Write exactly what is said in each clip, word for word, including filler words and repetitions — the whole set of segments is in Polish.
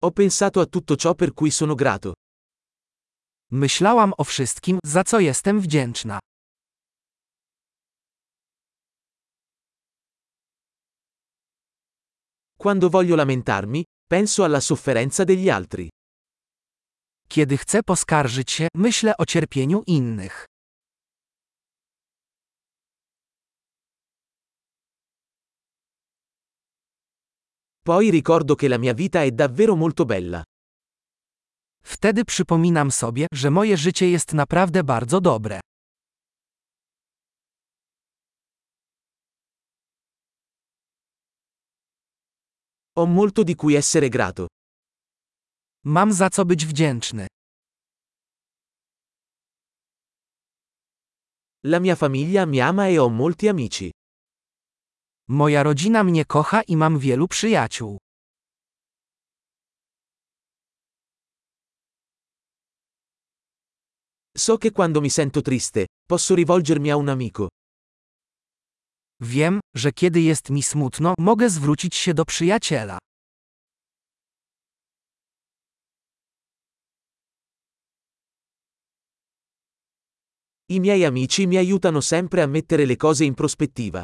Ho pensato a tutto ciò per cui sono grato. Myślałam o wszystkim, za co jestem wdzięczna. Quando voglio lamentarmi, penso alla sofferenza degli altri. Kiedy chcę poskarżyć się, myślę o cierpieniu innych. Poi ricordo che la mia vita è davvero molto bella. Wtedy przypominam sobie, że moje życie jest naprawdę bardzo dobre. Ho molto di cui essere grato. Mam za co być wdzięczny. La mia famiglia mi ama e ho molti amici. Moja rodzina mnie kocha i mam wielu przyjaciół. So che quando mi sento triste, posso rivolgermi a un amico. Wiem, że kiedy jest mi smutno, mogę zwrócić się do przyjaciela. I miei amici mi aiutano sempre a mettere le cose in prospettiva.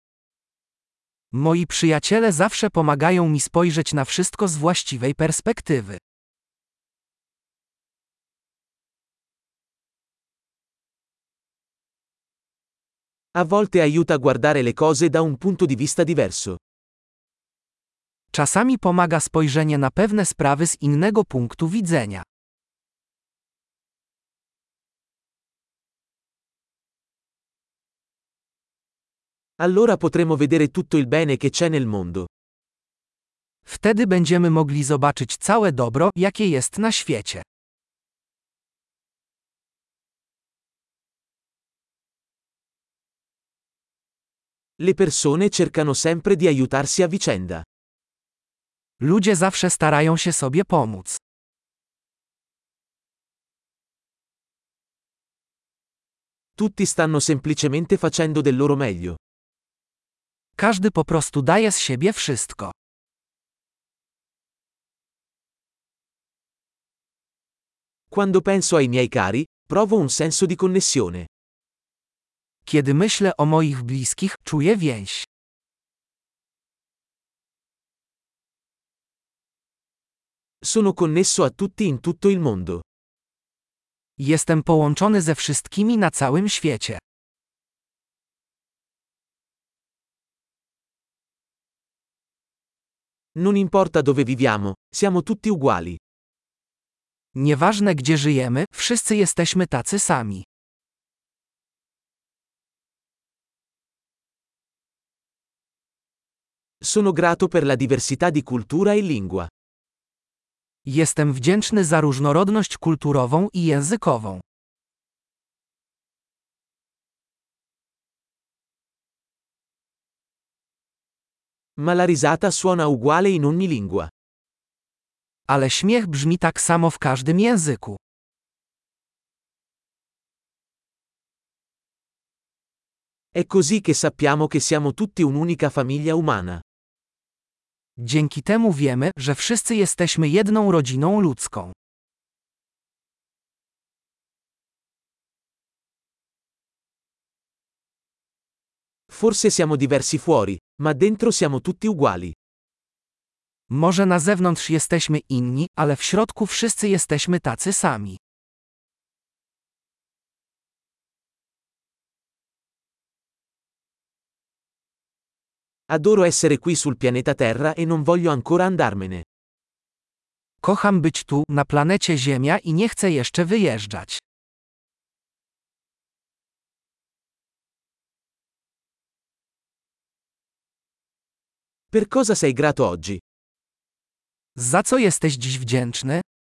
Moi przyjaciele zawsze pomagają mi spojrzeć na wszystko z właściwej perspektywy. A volte aiuta a guardare le cose da un punto di vista diverso. Czasami pomaga spojrzenie na pewne sprawy z innego punktu widzenia. Allora potremo vedere tutto il bene che c'è nel mondo. Wtedy będziemy mogli zobaczyć całe dobro, jakie jest na świecie. Le persone cercano sempre di aiutarsi a vicenda. Ludzie zawsze starają się sobie pomóc. Tutti stanno semplicemente facendo del loro meglio. Każdy po prostu daje z siebie wszystko. Quando penso ai miei cari, provo un senso di connessione. Kiedy myślę o moich bliskich, czuję więź. Sono connesso a tutti in tutto il mondo. Jestem połączony ze wszystkimi na całym świecie. Non importa dove viviamo, siamo tutti uguali. Nieważne gdzie żyjemy, wszyscy jesteśmy tacy sami. Sono grato per la diversità di cultura e lingua. Jestem wdzięczny za różnorodność kulturową i językową. Ma la risata suona uguale in ogni lingua. Ale śmiech brzmi tak samo w każdym języku. È così che sappiamo che siamo tutti un'unica famiglia umana. Dzięki temu wiemy, że wszyscy jesteśmy jedną rodziną ludzką. Forse siamo diversi fuori, ma dentro siamo tutti uguali. Może na zewnątrz jesteśmy inni, ale w środku wszyscy jesteśmy tacy sami. Adoro essere qui sul pianeta Terra e non voglio ancora andarmene. Kocham być tu, na planecie Ziemia i nie chcę jeszcze wyjeżdżać. Per cosa sei grato oggi? Za co jesteś dziś wdzięczny?